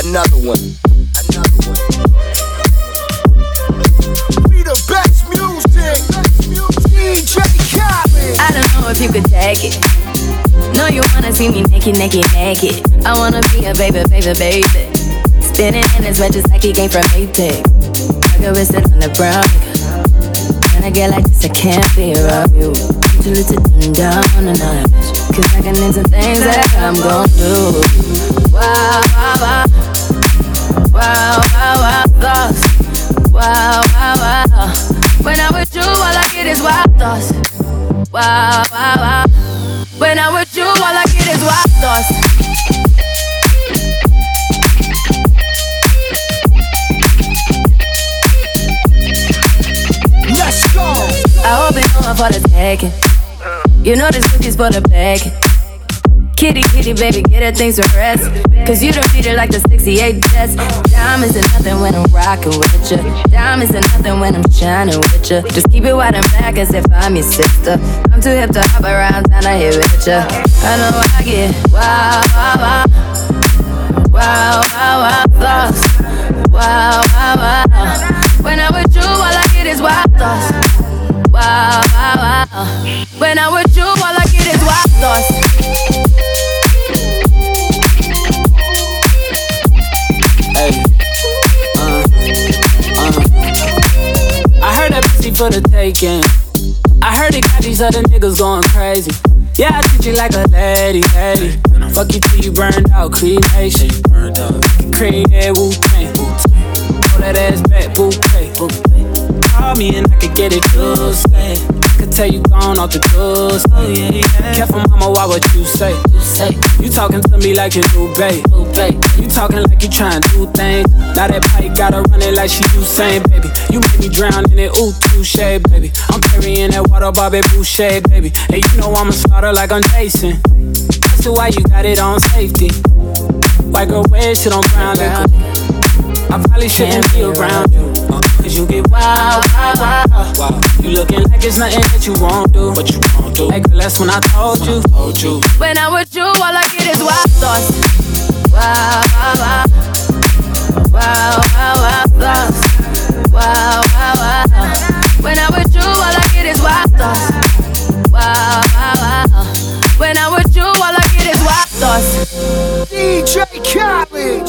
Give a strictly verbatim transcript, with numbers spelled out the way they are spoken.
Another one. Another one. We the best music. D J Khaled. I don't know if you could take it. No, you wanna see me naked, naked, naked. I wanna be a baby, baby, baby. Spinning in his red just like he came from Apex. I could be sitting on the brown. When I get like this, I can't be around you. Too little to dim down on another bitch. Cause I can into things that I'm gon' do. Wow, wow, wow. Wow, wow, wow, thoughts. Wow, wow, wow. When I'm with you, all I get is wild thoughts. Wow, wow, wow. When I'm with you, all I get is wild thoughts. Let's go. I hope it's going for the taking. You know this cookie's for the bag. Kitty, kitty, baby, get her things to rest. Cause you don't treat her like the sixty-eight Jets. Diamonds are nothing when I'm rockin' with ya. Diamonds are nothing when I'm shining with ya. Just keep it white and black as if I'm your sister. I'm too hip to hop around town, I hit with ya. I know I get wow, wow, wow. Wow, wow, wow, thoughts. Wow, wow, wow. When I'm with you, all I get is wild thoughts. Wow, wow, wow. When I'm with you, all I get is wild thoughts. Hey, uh, uh. I heard that pussy for the taking. I heard it got these other niggas going crazy. Yeah, I treat you like a lady, lady. Fuck you till you burned out, cremation. Cream, yeah, Wu-Tang. Pull that ass back, bouquet. Call me and I could get it Tuesday. Could tell you gone off the doors. Oh yeah, yeah. Careful, mama, why what you say? You say you talking to me like you new babe. You talking like you trying to do things. Now that pipe gotta run it like she Usain, baby. You made me drown in it, ooh, touche, baby. I'm carrying that water, Bobby Boucher, baby. And you know I'ma slaughter like I'm Jason. That's why you got it on safety. White girl wear shit on brown liquor. I probably shouldn't be around you, uh, cause you get wild, wild, wild, wild. You looking like it's nothing that you won't do. What you won't do? Hey girl, that's when I told you. Told you. When I'm with you, all I get is wild thoughts. Wow, wow, wow. Wow, wow, wow, thoughts. Wow, wow, wow. When I'm with you, all I get is wild thoughts. Wow, wow, wow. When I'm with you, all I get is wild thoughts. D J Khaled.